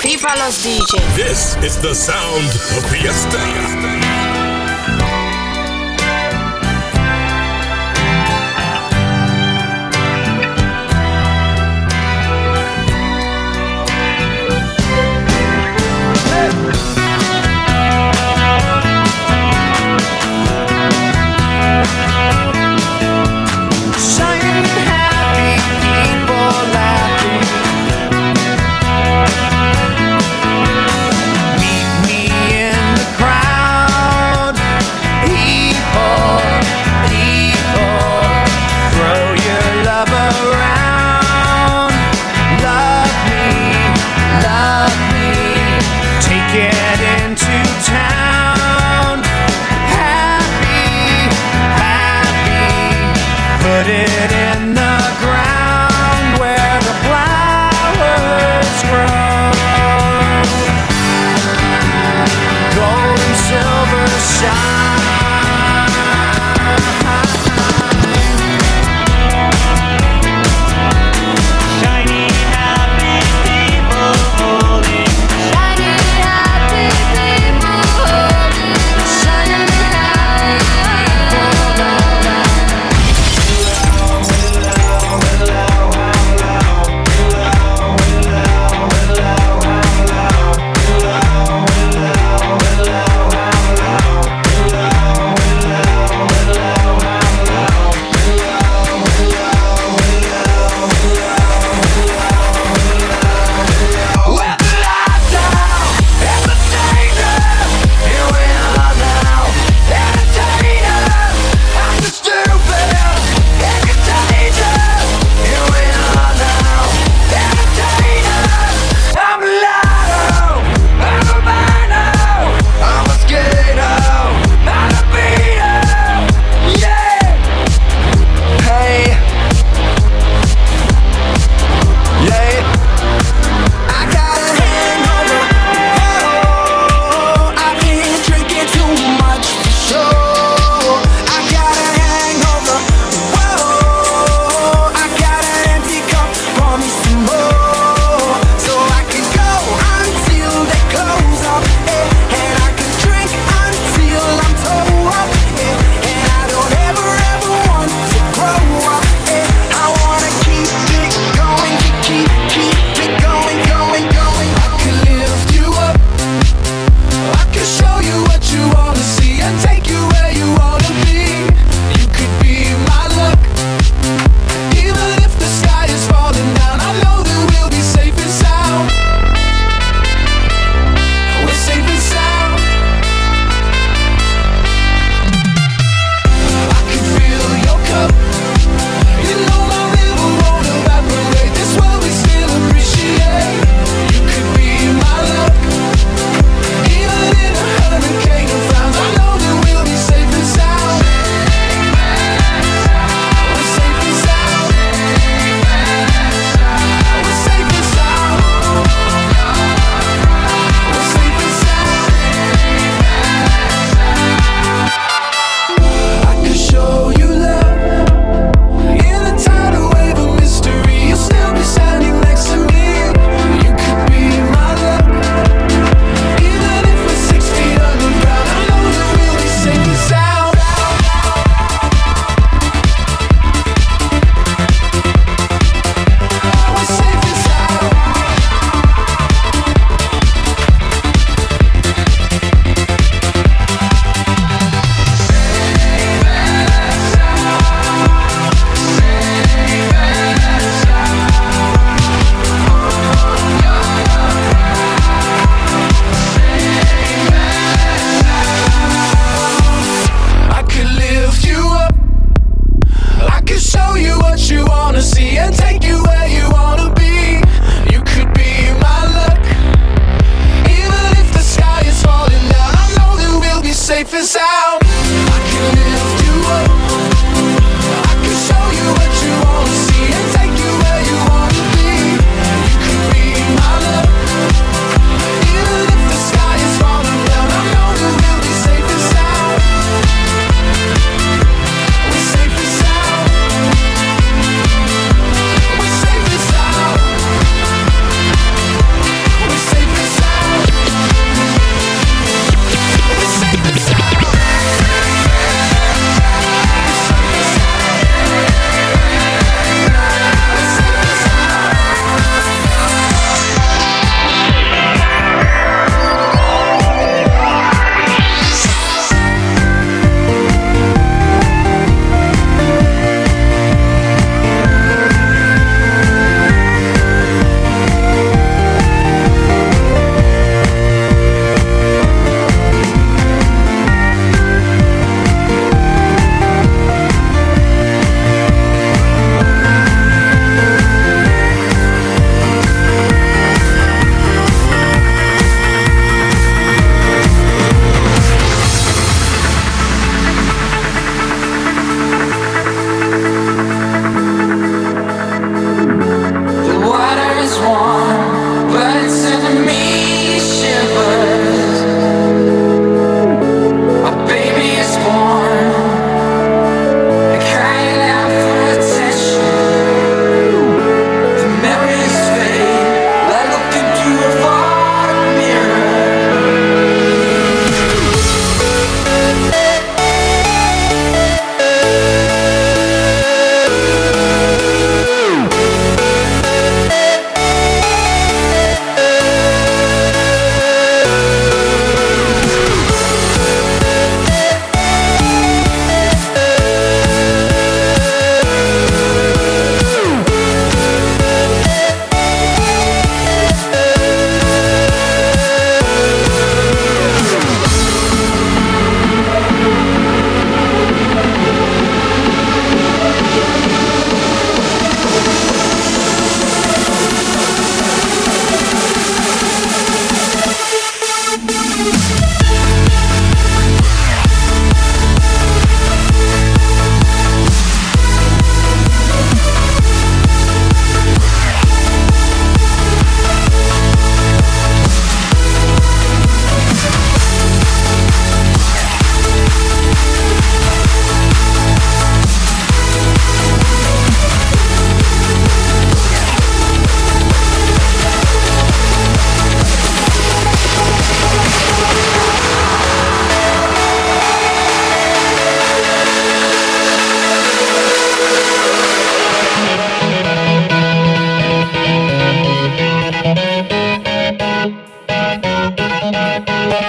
FIFA los DJ. This is the sound of Fiesta. Meet me in the crowd.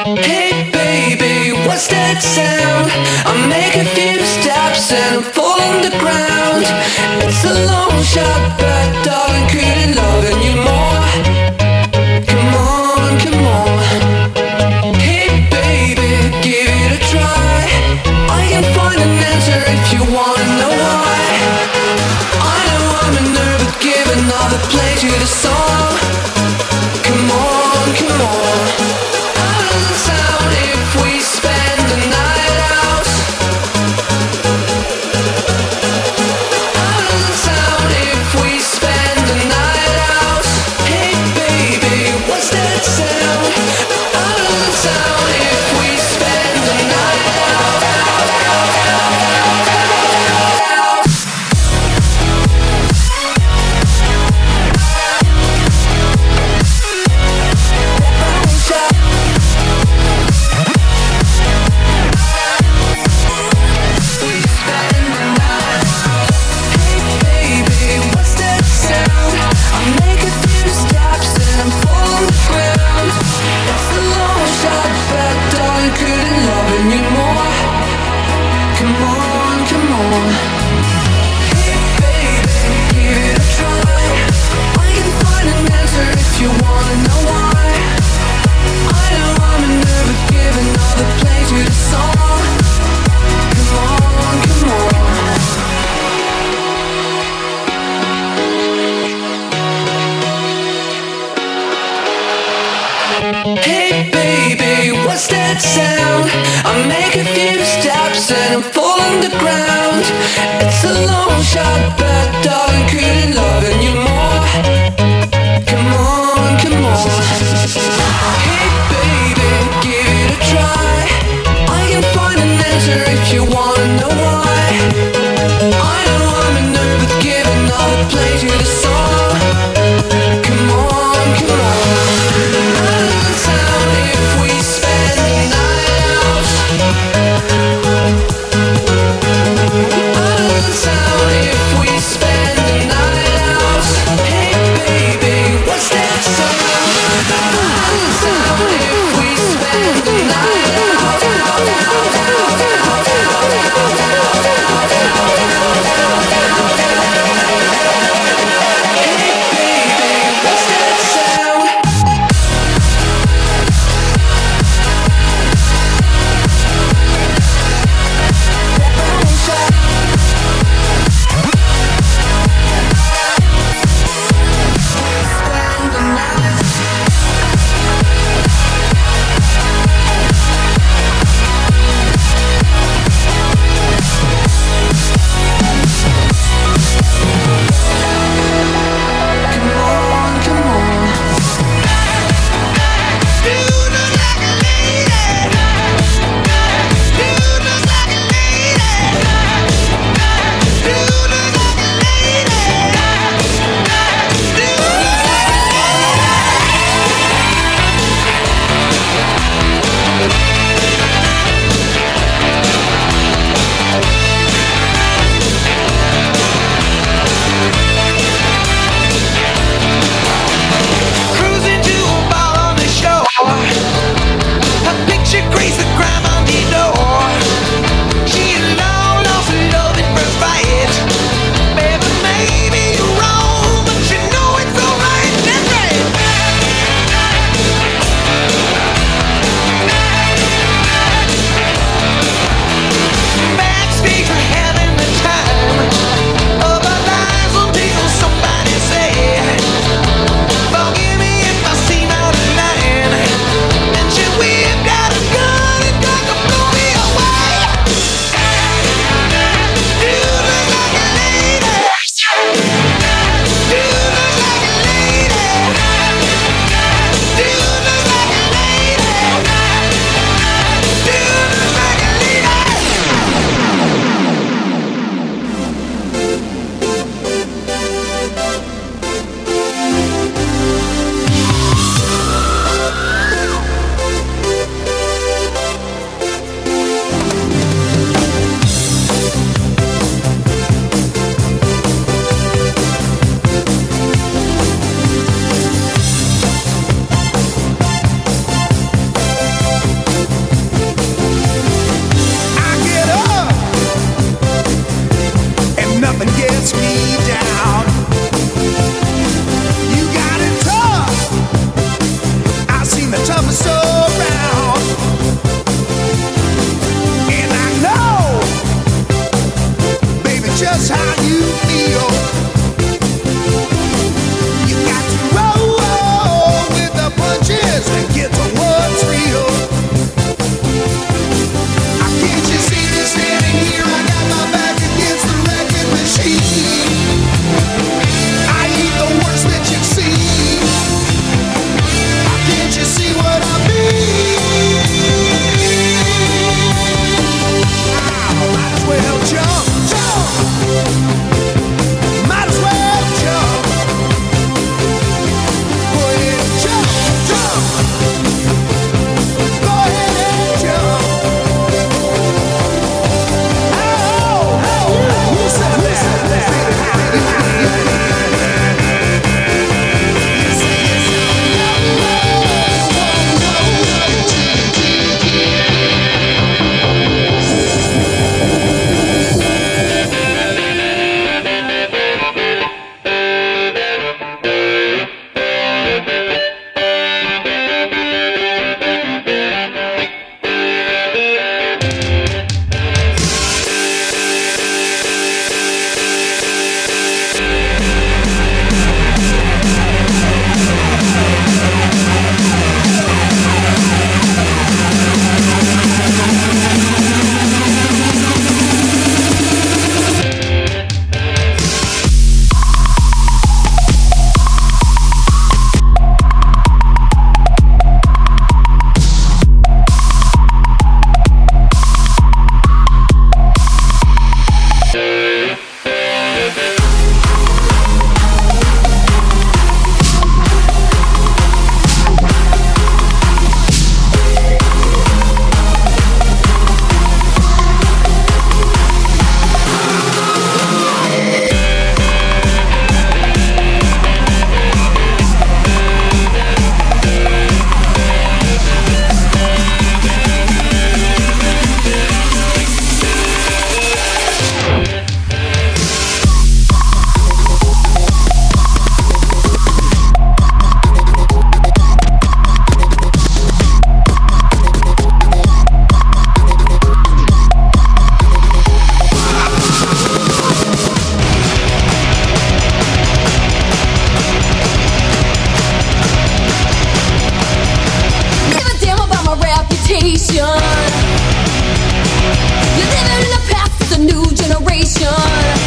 Hey baby, what's that sound? I make a few steps and I fall on the ground. It's a long shot, but darling, couldn't loving you more. Come on, come on. Hey baby, give it a try. I can find an answer if you wanna know why. I know I'm a nerd, but give another play to the song. Come on, come on. How does it sound if we spend the night out? How does it sound if we spend the night out? Hey baby, what's that sound? How does it sound if we spend the night out? Hey baby, what's that sound? I make a few steps and I fall on the ground. It's a long shot, but darling, couldn't loving you more. Come on, come on. Hey baby, give it a try. I can find an answer if you wanna know why. I know I'm a nerd, but give another play to the song. Come on, come on. How does it sound if we spend the night out? How does it sound if we spend the night station. You're living in the past, it's a new generation.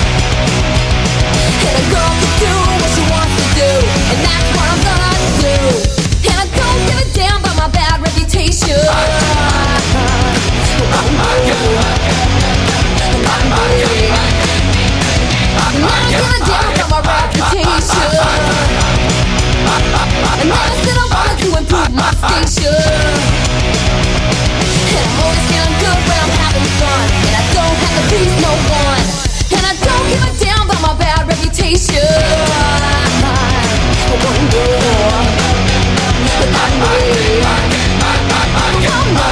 And a girl can do what she wants to do, and that's what I'm gonna do. And I don't give a damn about my bad reputation. And I don't give a damn about my reputation. And I said I wanted to improve my station. And I'm always feeling good when I'm having fun, and I don't have to please no one. And I don't give a damn about my bad reputation. One more, not me. Come on,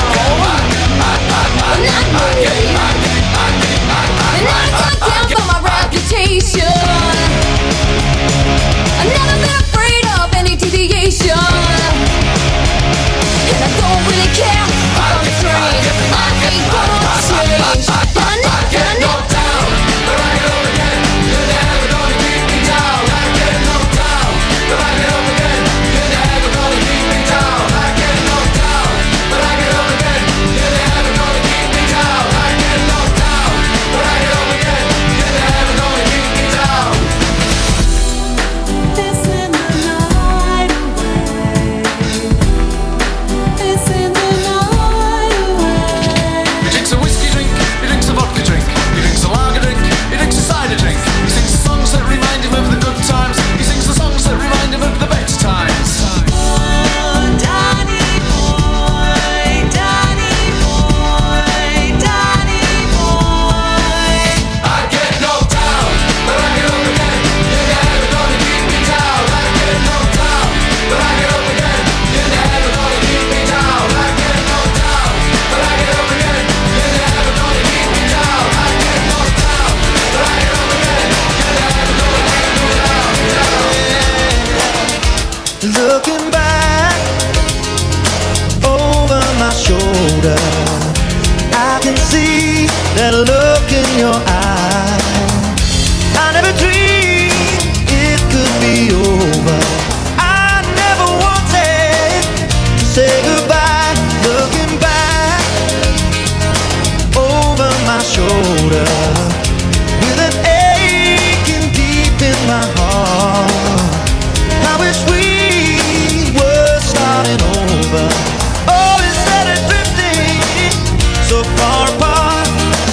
not me. And I don't give a damn about my reputation. I've never been afraid of any deviation. And I don't really care if I'm strange. I ain't gonna change. And I know down, but I get up again. You're never gonna keep me down. I get knocked down, but I get up again. You're never gonna keep me down. I get knocked down, but I get up again. You're never gonna keep me down. I get knocked down, but I get up again. You're never gonna keep me down. This in the night away. This in the night away. He drinks a whiskey drink, he drinks a vodka drink, he drinks a lager drink, he drinks a cider drink. He sings the songs that remind him of the good times. He sings the songs that remind him of the better times. Danny boy, Danny boy, Danny boy. I get knocked down, but I get up again. You're never gonna keep me down. I get knocked down, but I get up again. You're never gonna keep me down. I get knocked down, but I get up again. You're never gonna keep me down. I get knocked down, but I get up again. You're never gonna keep me down. Looking back over my shoulder, I can see that look in your eye. I never dreamed it could be over. I never wanted to say goodbye. Looking back over my shoulder, with an aching deep in my heart, I wish we were starting over. Oh, instead of drifting so far apart.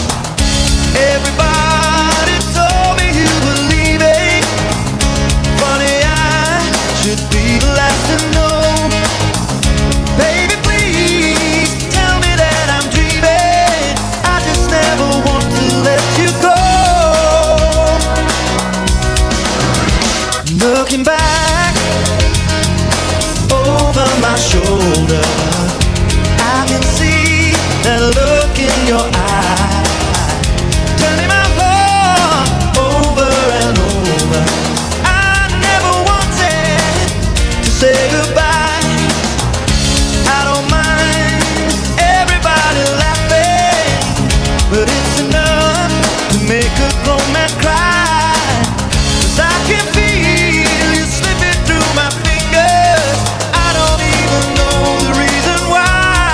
Everybody told me you were leaving. Funny, I should be the last to know. Baby, please tell me that I'm dreaming. I just never want to let you go. Looking back over my shoulder, I can see that look in your eye, turning my heart over and over. I never wanted to say goodbye. I don't mind everybody laughing, but it's enough to make a grown man cry. 'Cause I can feel you slipping through my fingers. I don't even know the reason why.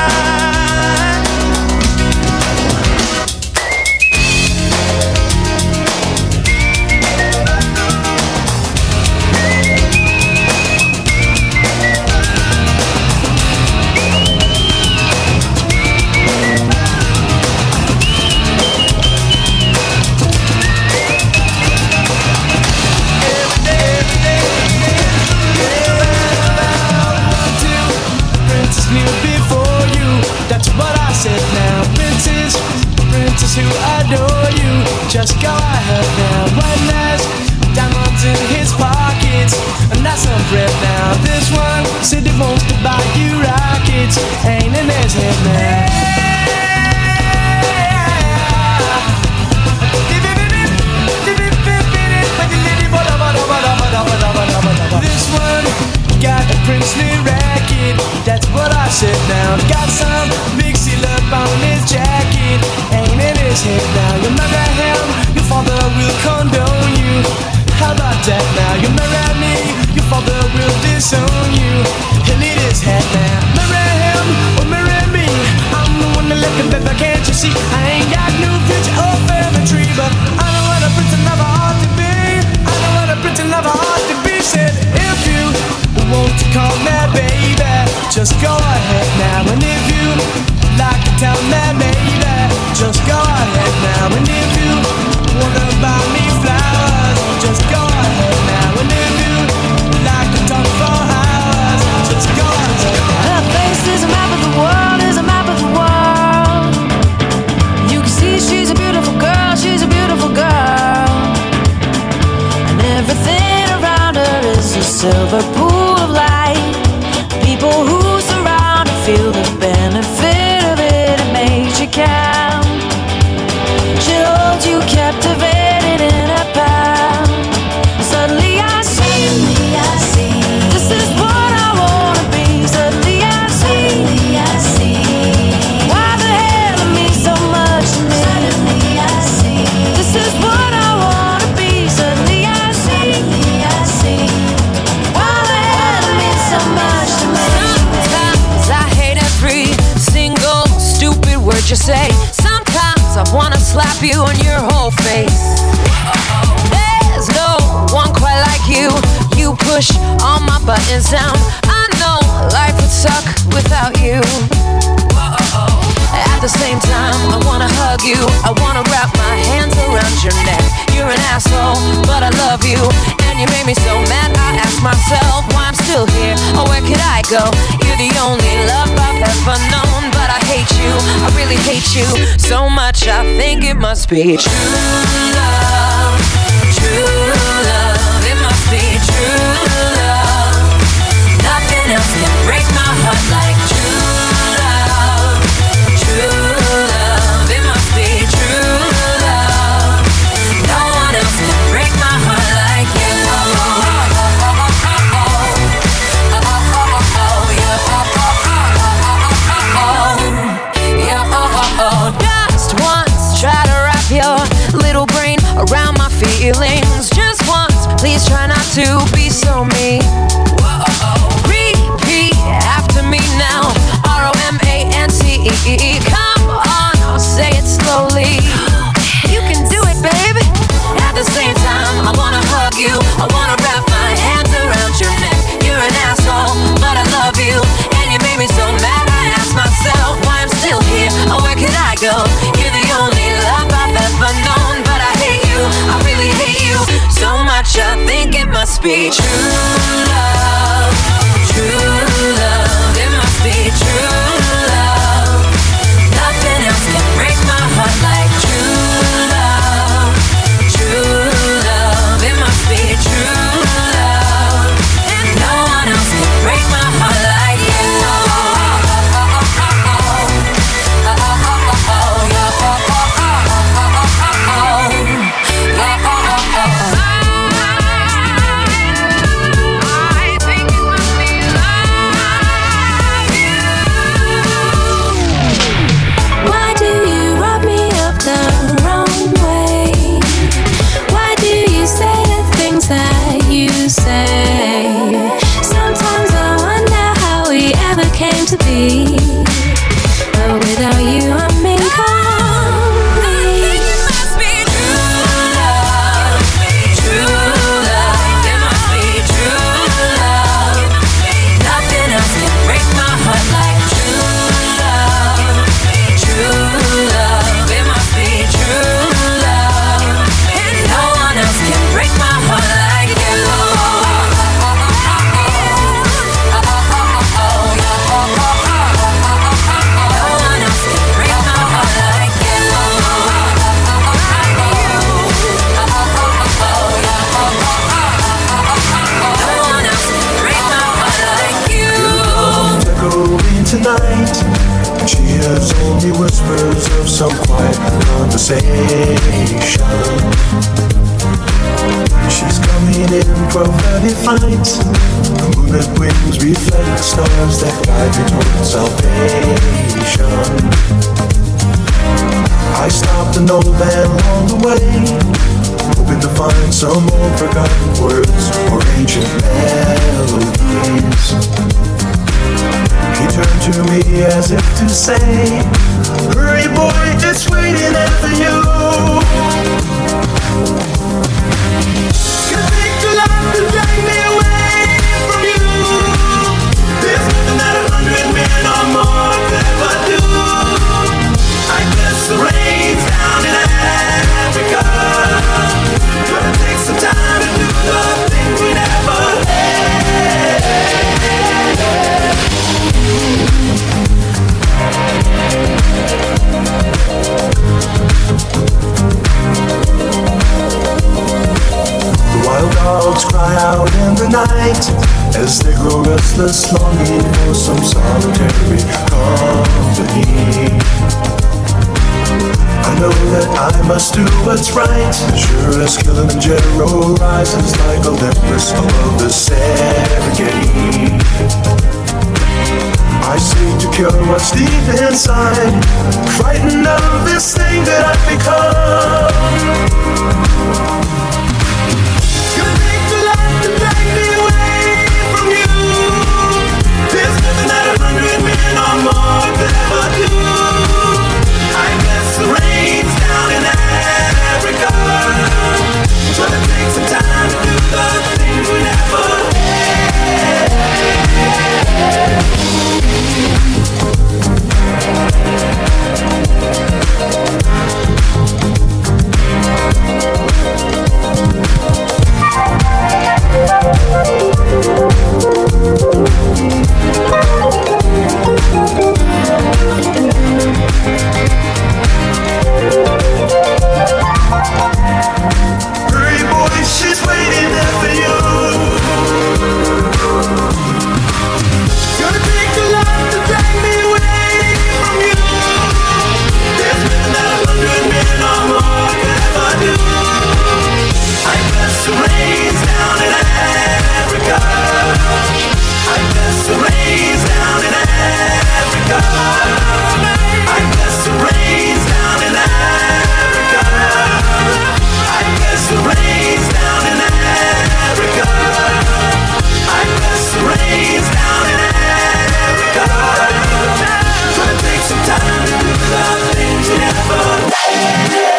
Princess knew before you, that's what I said now. Princess, princess who adore you, just go ahead now. One has diamonds in his pockets, and that's some bread now. This one said he wants to buy you rockets, ain't in his head now. This one got a princely racket, that's what I said now. Got some big seal up on his jacket, ain't in his head now. You marry him, your father will condone you. How about that now? You marry me, your father will disown you. He'll eat his head now. Marry him or marry me, I'm the just go ahead now. And if you like to tell me, baby, just go ahead now. And if you wanna buy me flowers, just go ahead now. And if you like to talk for hours, just go ahead now. Her face is a map of the world, is a map of the world. You can see she's a beautiful girl, she's a beautiful girl. And everything around her is a silver pool of light. People who surround her feel the benefit of it, it makes you count. She'll hold you captivated in her palm. Suddenly I see, this is what I wanna be. Suddenly I see, why the hell it means so much to me. Suddenly I see, this is what I wanna be. Suddenly I see, why the hell it means so much to me. Sometimes I hate every single stupid word you say. Sometimes I wanna slap you on your whole face. There's no one quite like you. You push all my buttons down. I know life would suck without you. At the same time, I wanna hug you. I wanna wrap my hands around your neck. You're an asshole, but I love you. And you made me so mad, I ask myself why I'm still here. Or where could I go? You're the only love I've ever known. But I hate you, I really hate you so much, I think it must be true love. True love, it must be true love. Nothing else can break my heart like true love. True love, it must be true love. No one else can break my heart like you. Just once, try to wrap your little brain around my feelings. Just once, please try not to be so mean. Repeat after me now. ROMANCE. Come on, I'll say it slowly. You can do it, baby. At the same time, I wanna hug you. I wanna wrap my hands around your neck. You're an asshole, but I love you. And you made me so mad, I ask myself why I'm still here. Or where could I go? You're the only love I've ever known. But I hate you, I really hate you so much, I think it must be true love. True love, it must be true love. Nothing else can break my heart like true love. True love, it must be true love. And no one else can break my heart like you. Why do you rub me up the wrong way? Why do you say the things that you say? Sometimes I wonder how we ever came to be. But without you, I'm incomplete. It must be true love. True love. It must be true love. Nothing else can break my heart like true love. True love. It must be true love. And no one else can break my heart like you. Tonight, she hears only whispers of some quiet conversation. She's coming in from early fight. The moonlit wings reflect stars that guide me towards salvation. I stopped an old man along the way, hoping to find some old forgotten words or ancient melodies. He turned to me as if to say, hurry boy, it's waiting after you. You take the life to drag me away from you. There's nothing that 100 no restless longing for some solitary company. I know that I must do what's right, sure as Kilimanjaro rises like Olympus above the Serengeti. I seek to cure what's deep inside, frightened of this thing that I've become. Gonna take the light to drag me away from you. There's nothing that 100 men or more could ever do. I guess the rain's down in Africa. Gonna take some time to do the things we never had. Hurry, boy, she's waiting there for you. Gonna take the light to drag me away from you. There's nothing that 100 men or more could ever do. I guess the rain's down in Africa. I guess the rain's down in Africa. I guess the rain's down in Africa. I guess the rain's down in Africa. I guess the rain's down in Africa. Gonna take some time to do the things you never did.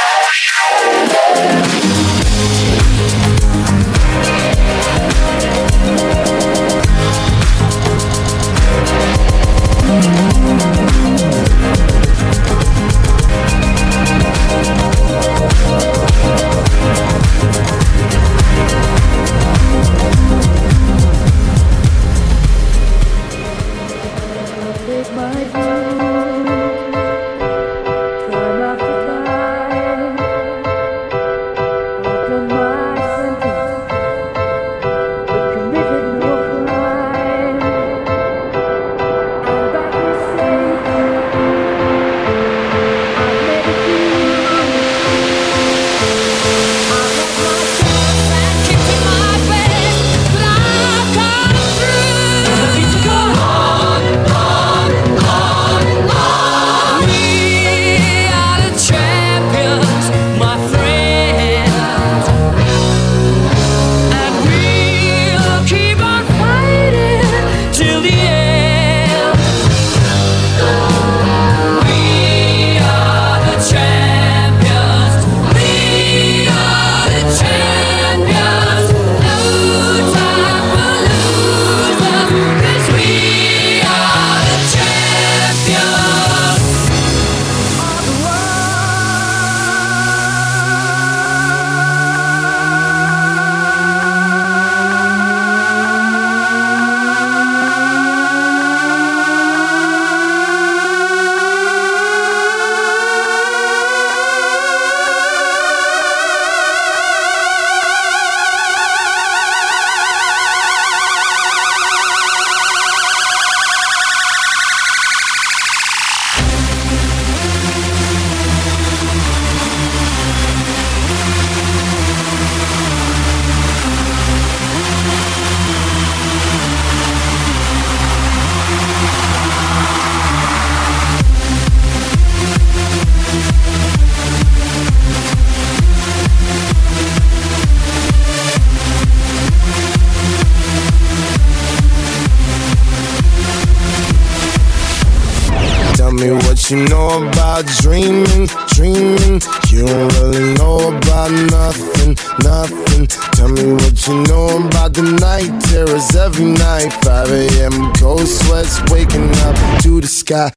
me what you know about dreaming, dreaming. You don't really know about nothing, nothing. Tell me what you know about the night terrors every night. 5 a.m. cold sweats waking up to the sky.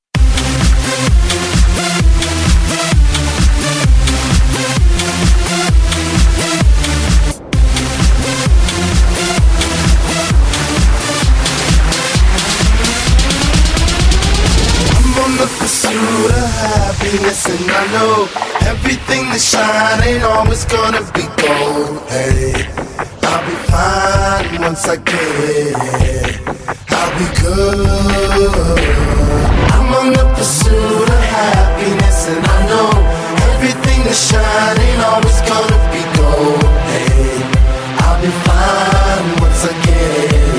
The pursuit of happiness, and I know everything that shine ain't always gonna be gold. Hey, I'll be fine once I get it, I'll be good. I'm on the pursuit of happiness, and I know everything that's shining always gonna be gold. Hey, I'll be fine once I get it.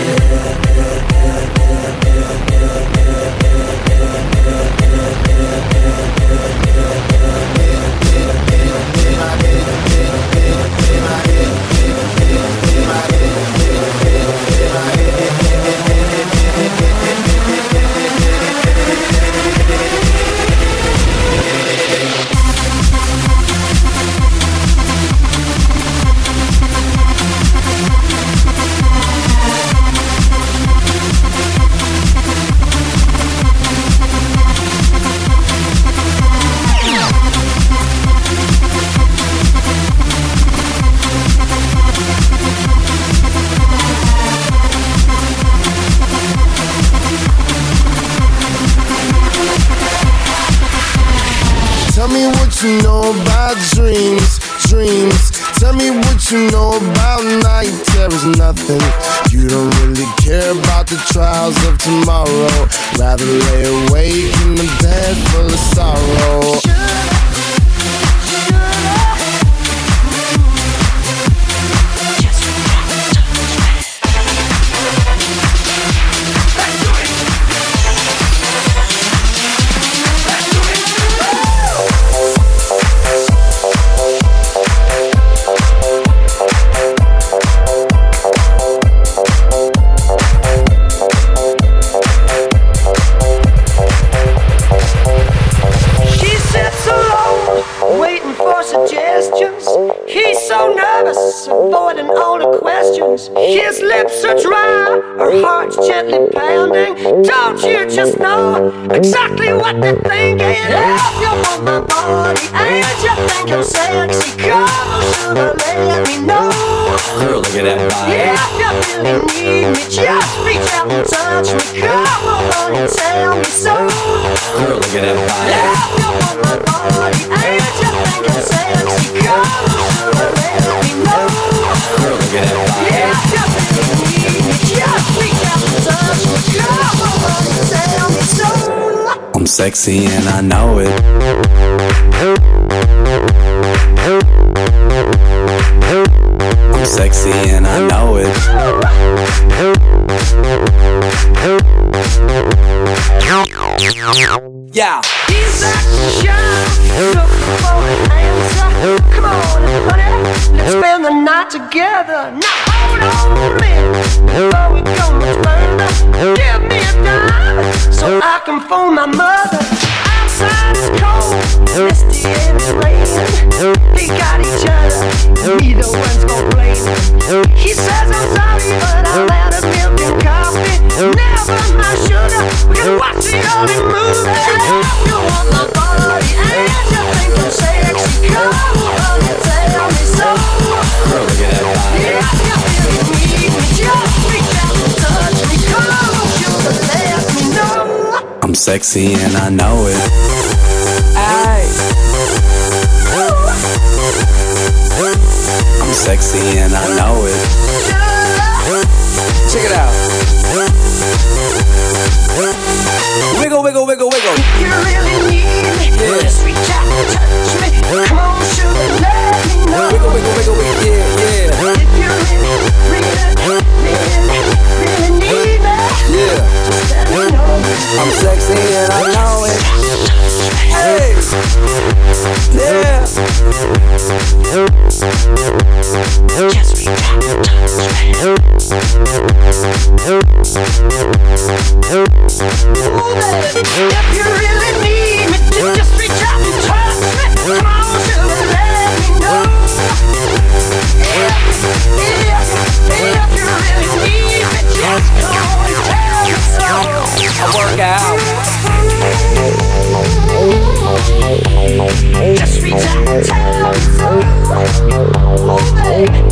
Tell me what you know about dreams. Tell me what you know about night terrors. Nothing. You don't really care about the trials of tomorrow. Rather lay awake in the bed full of sorrow. Avoiding all the questions. His lips are dry, her heart's gently pounding. Don't you just know exactly what they're thinking? If you want my body and you think I'm sexy, come on, sugar, let me know. Girl, look at that body. Yeah, if you really need me, just reach out and touch me. Come on, honey, tell me so. Girl, look at that body. If you want my body and you think I'm sexy, come on, sugar, let me know. Girl, look at that body. Yeah, just reach out and touch me. Come on, honey, tell me so. I'm sexy and I know it. I'm sexy and I know it. Yeah. He's action, looking for an answer. Come on, honey, let's spend the night together. Now hold on a minute, before we go much further. Give me a dime, so I can phone my mother. Outside it's cold, misty and it's raining. They got each other, neither one's gonna blame him. He says I'm sorry, but I'm out of milk and coffee. Never mind sugar, we can watch the only movie. If you want my body and you think I'm sexy, come on, honey, tell me so. Girl, look at that body. Yeah, if you really need me, just reach out and touch me. Come on, sugar, let me know. I'm sexy and I know it. Aye. I'm sexy and I know it. Check it out. Wiggle, wiggle, wiggle, wiggle. If you really need me, just reach out and touch me. Come on, sugar, let me know. Wiggle, wiggle, wiggle, wiggle, yeah, yeah. If you really, really need me, Yeah. just let me know. I'm sexy and I know it. Hey. Yeah. Just reach out and touch me. If you really need me, just reach out and touch me. Come on, sugar, let me know. If you really need me, just come on and tell me so. I work out. Just reach out and tell me so. Oh, baby.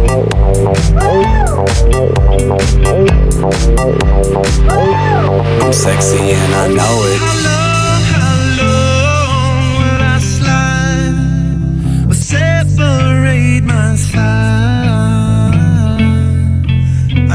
I'm sexy and I know it. How long will I slide or separate my spine? I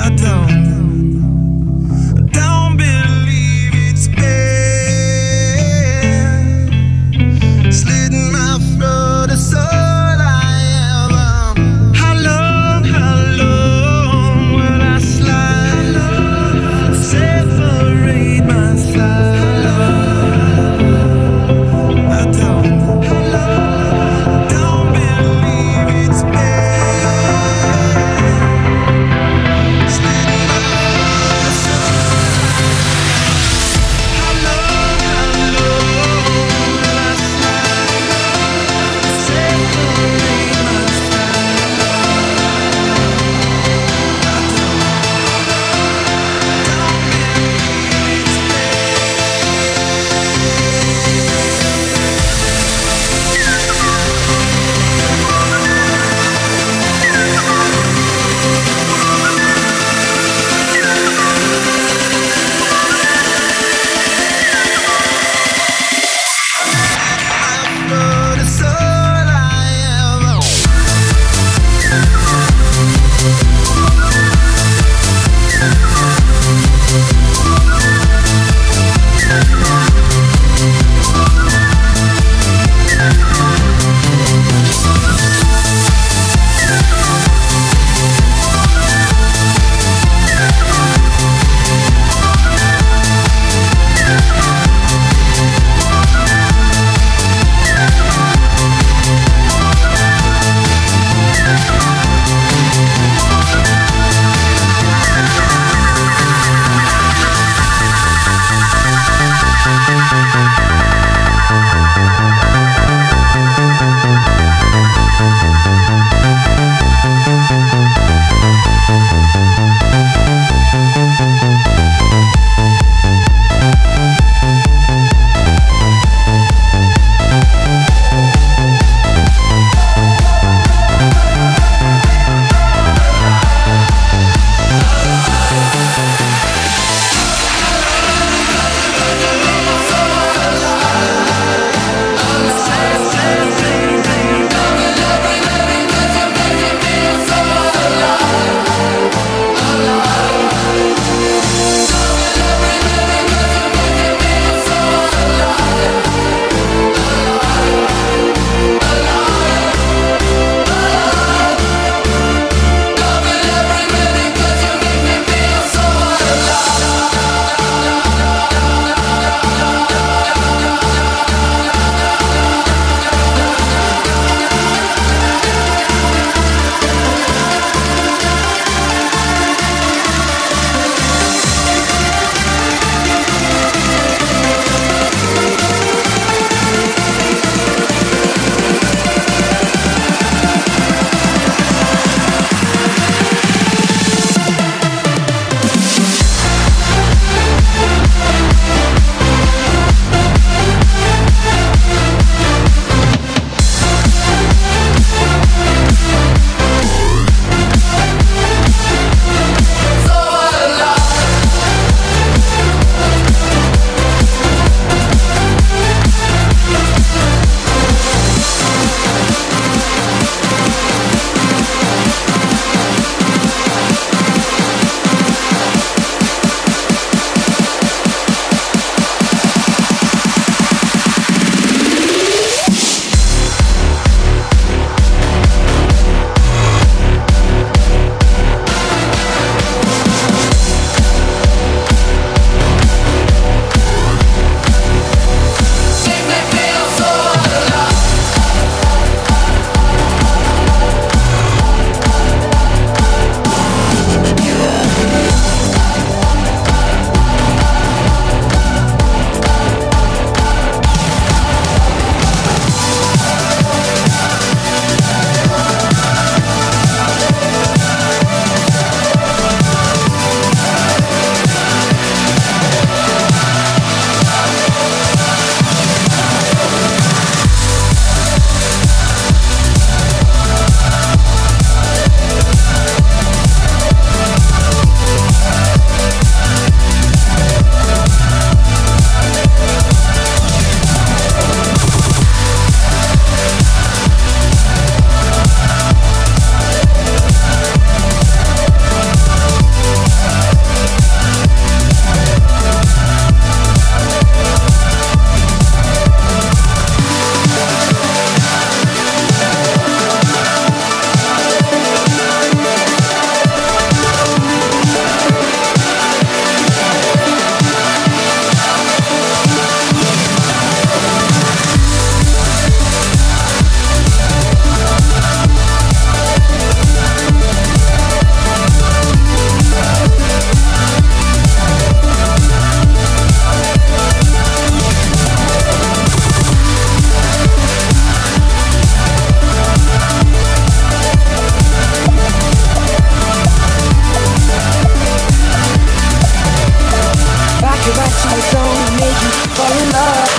could write you a song to make you fall in love.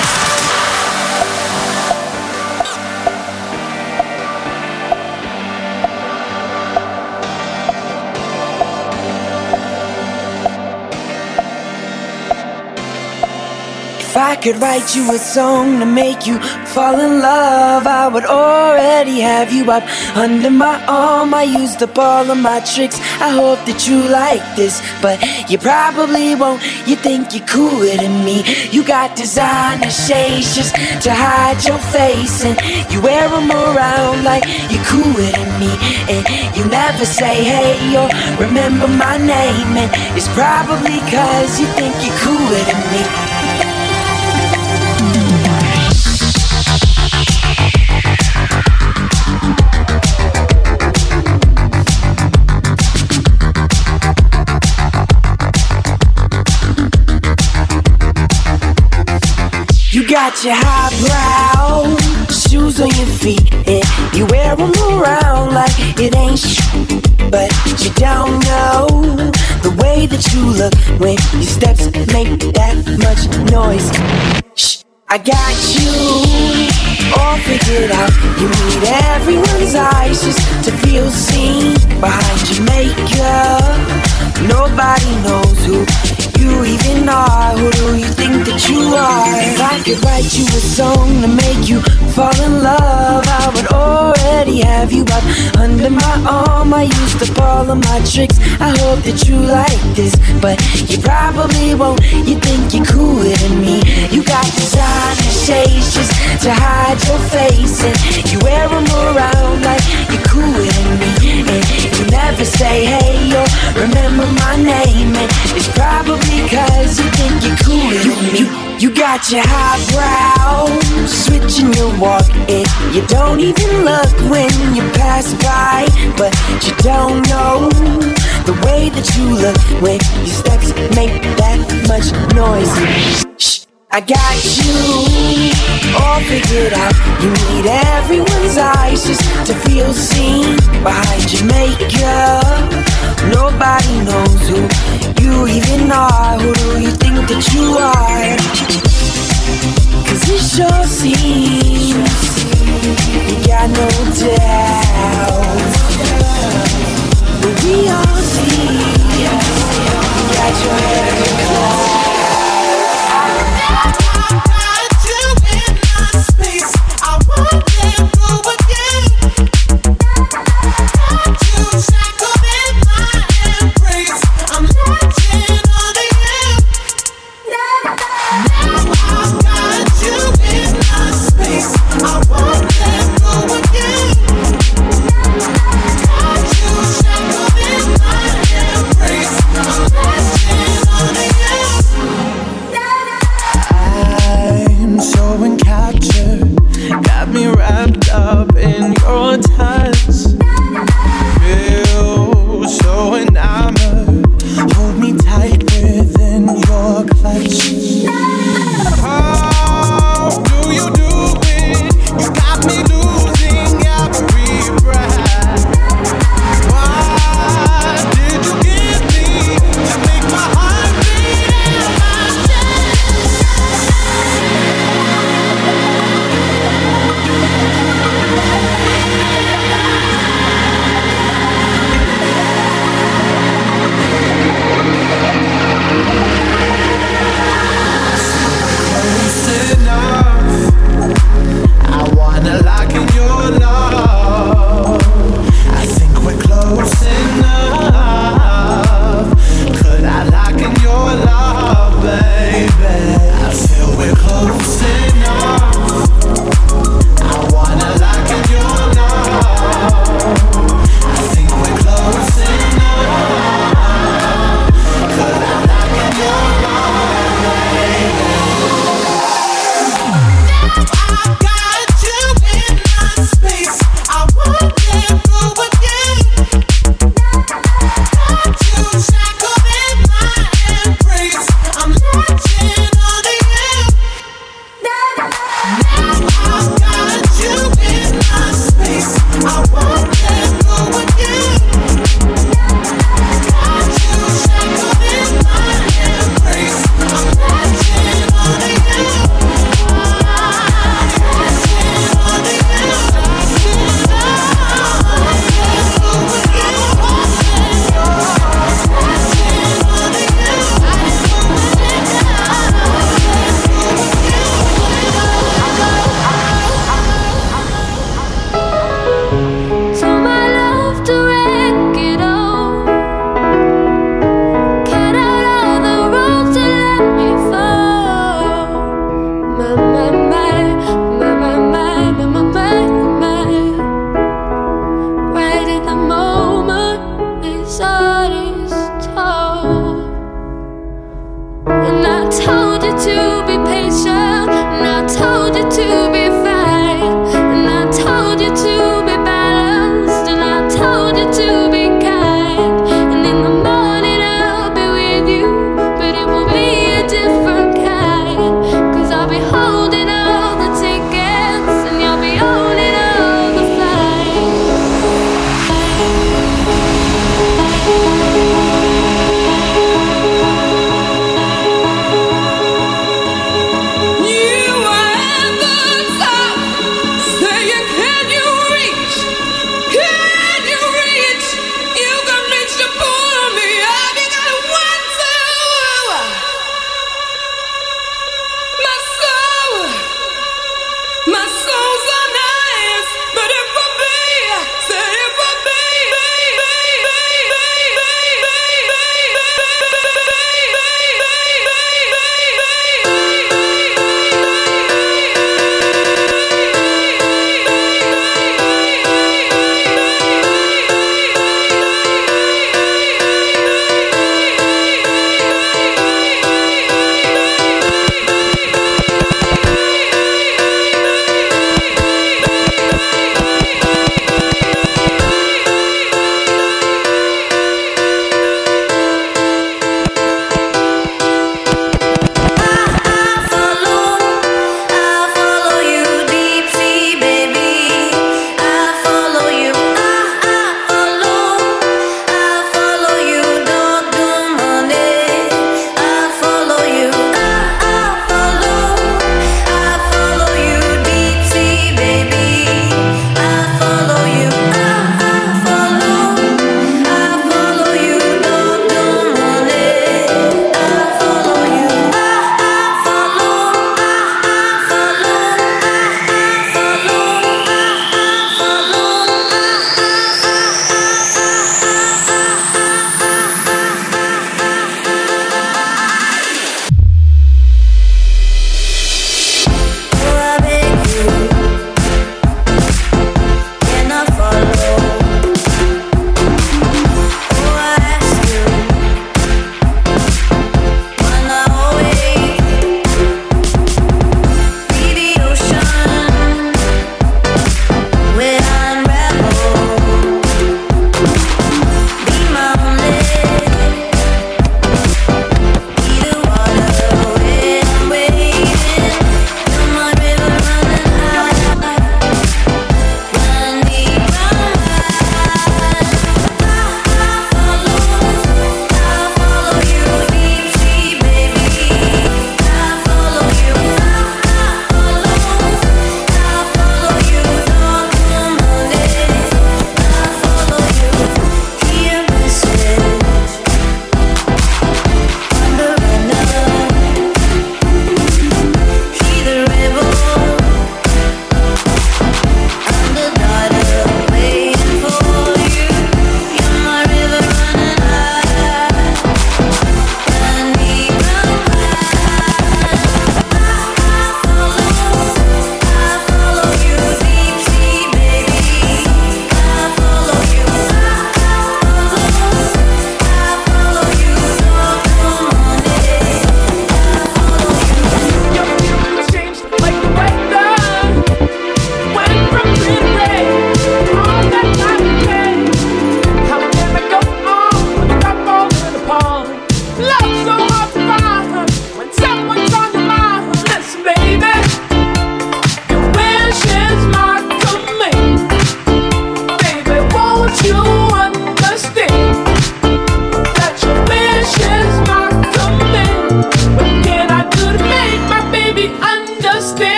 If I could write you a song to make you fall in love, I would already have you up under my arm. I used up all of my tricks, I hope that you like this, but you probably won't. You think you're cooler than me. You got designer shades just to hide your face, and you wear them around like you're cooler than me. And you never say hey or remember my name, and it's probably cause you think you're cooler than me. You got your highbrow shoes on your feet, and you wear them around like it ain't but you don't know the way that you look when your steps make that much noise. Shh, I got you all figured out. You need everyone's eyes just to feel seen behind your makeup. Nobody knows who you even are. Who do you think that you are? If I could write you a song to make you fall in love, I would already have you up under my arm. I used up all of my tricks, I hope that you like this, but you probably won't. You think you're cooler than me. You got designer shades just to hide your face, and you wear them around like you're cooler than me. And you never say hey or remember my name, and it's probably cause you think you're cooler than me. You got your highbrow switching your walk, and you don't even look when you pass by, but you don't know the way that you look when your steps make that much noise. Shh, I got you all figured out. You need everyone's eyes just to feel seen behind your makeup. Nobody knows who you even are. Who do you think that you are? Cause it sure seems you got no doubt, but we all see you got your head in the clouds. You are the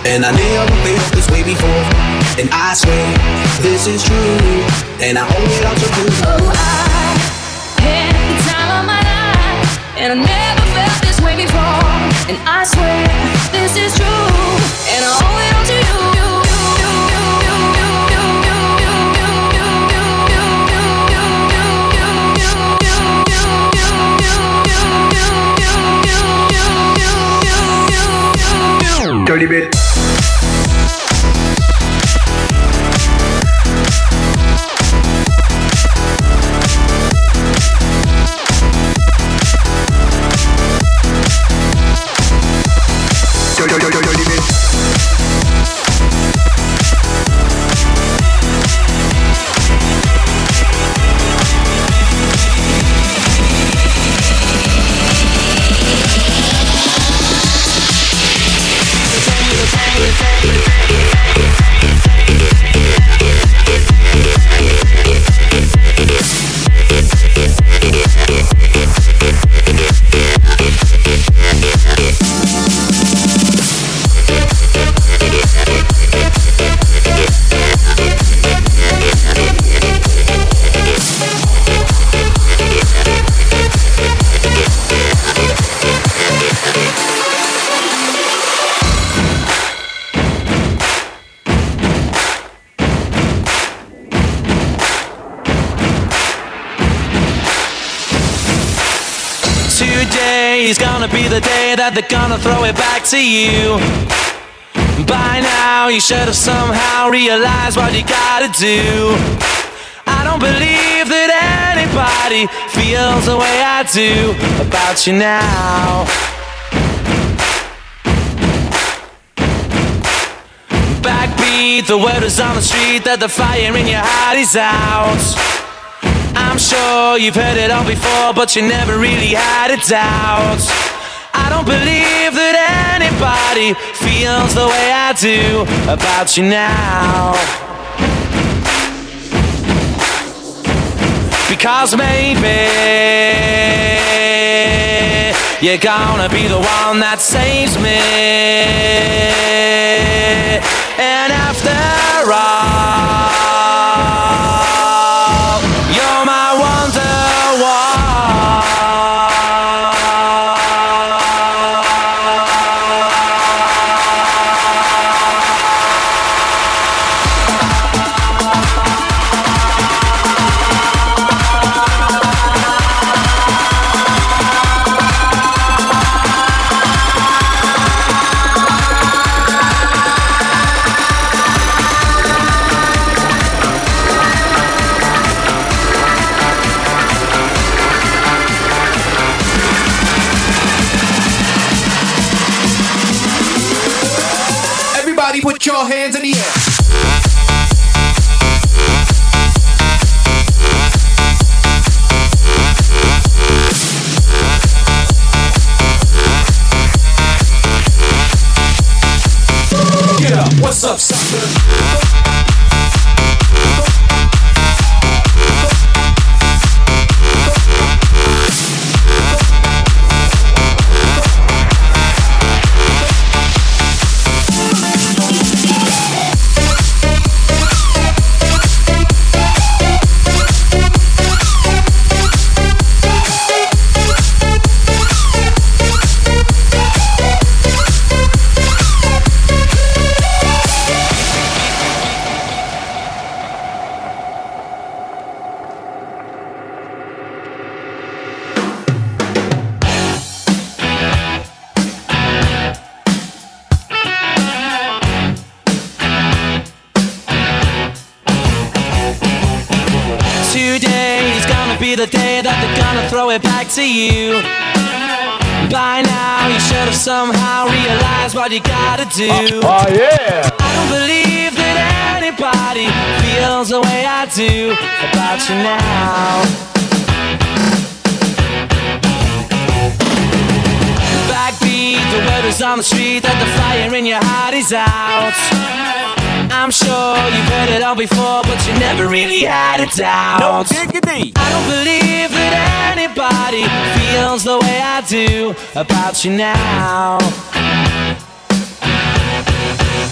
and I never felt this way before. And I swear this is true, and I owe it all to you. Oh, I had the time of my life, and I never felt this way before. And I swear this is true, and I owe it all to you. Dirty bit. Dirty bit. Today's gonna be the day that they're gonna throw it back to you. By now you should have somehow realized what you gotta do. I don't believe that anybody feels the way I do about you now. Backbeat, the word is on the street that the fire in your heart is out. I'm sure you've heard it all before, but you never really had a doubt. I don't believe that anybody feels the way I do about you now. Because maybe you're gonna be the one that saves me. And after all, you're my Wonderwall. Put your hands in the air. Get up, what's up, sucker? Today's gonna be the day that they're gonna throw it back to you. By now you should have somehow realized what you gotta do. Oh yeah! I don't believe that anybody feels the way I do about you now. Backbeat, the word is on the street that the fire in your heart is out. I'm sure you've heard it all before, but you never really had a doubt. No diggity. I don't believe that anybody feels the way I do about you now.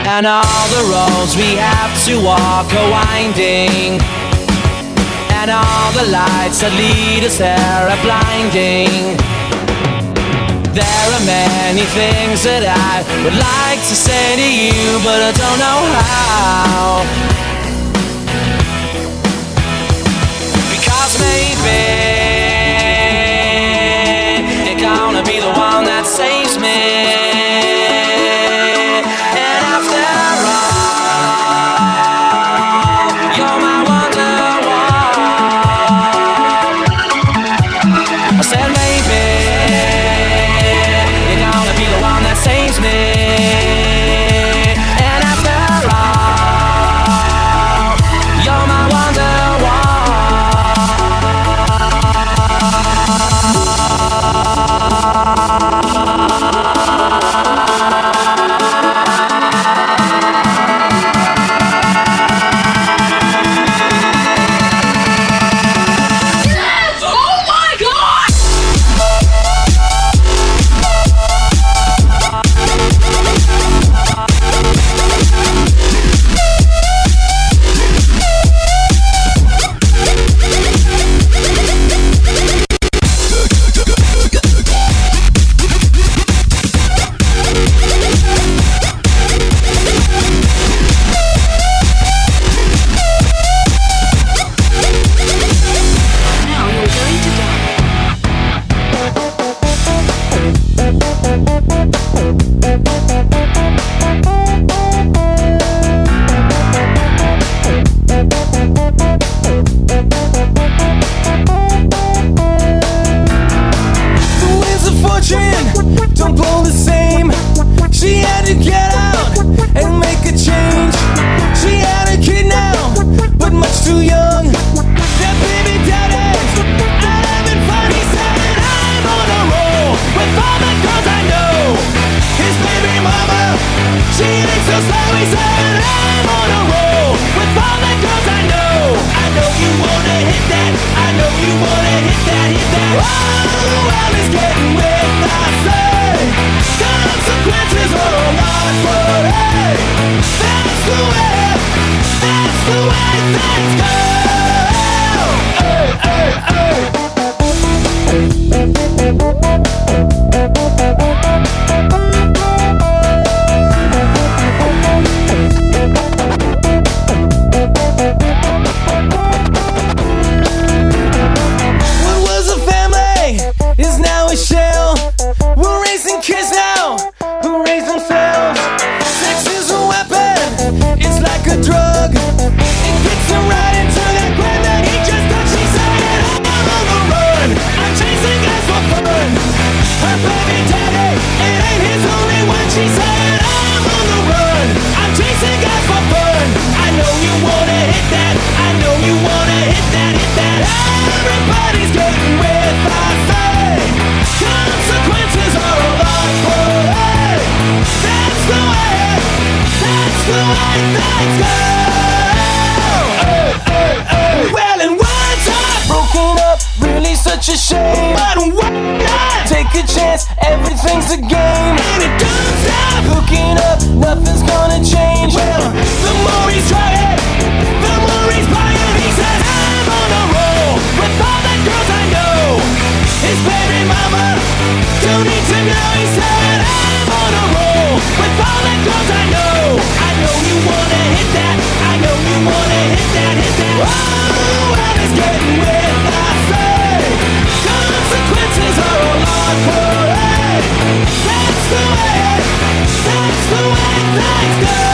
And all the roads we have to walk are winding, and all the lights that lead us there are blinding. There are many things that I would like to say to you, but I don't know how. Because maybe you're gonna be the one that saves me. Such a shame, but why not? Take a chance, everything's a game, and it don't stop. Hooking up, nothing's gonna change. Well, the more he's trying, the more he's buying. He said, I'm on a roll with all the girls I know. His baby mama don't need to know. He said, I'm on a roll with all the girls I know. I know you wanna hit that. I know you wanna hit that, hit that. Oh, well, it's getting with I say. Consequences are a lot for it. That's the way things go.